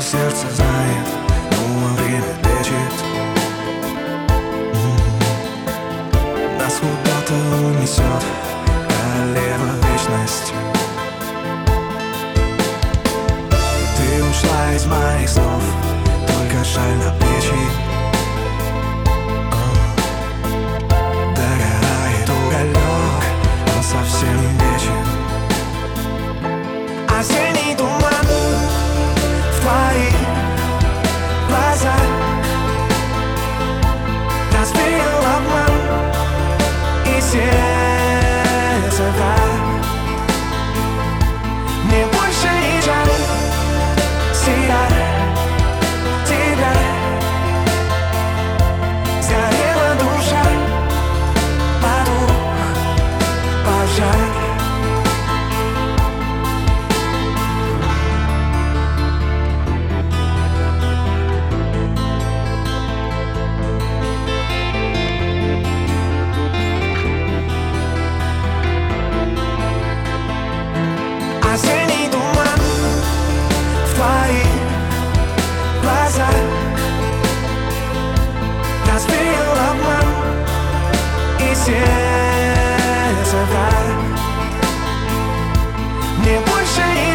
сердце знает, но время лечит. Нас куда-то унесет королева вечность. Ты ушла из моих снов, только шаль на плечи. Догорает уголек, он совсем не вечен. Осенний туман в твоих глазах разбил обман и сердце враг. Мне больше не жаль себя, тебя. Сгорела душа, потух пожар. Осенний туман в твоих глазах разбил обман и сердце враг. Мне больше не